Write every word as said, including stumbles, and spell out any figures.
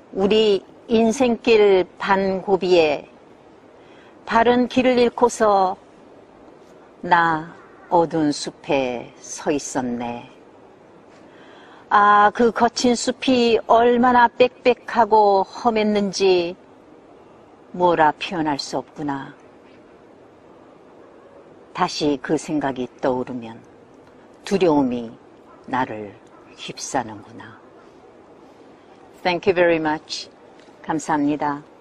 우리 인생길 반고비에 바른 길을 잃고서 나 어두운 숲에 서 있었네. 아, 그 거친 숲이 얼마나 빽빽하고 험했는지 뭐라 표현할 수 없구나. 다시 그 생각이 떠오르면 두려움이 나를 휩싸는구나. Thank you very much. 감사합니다.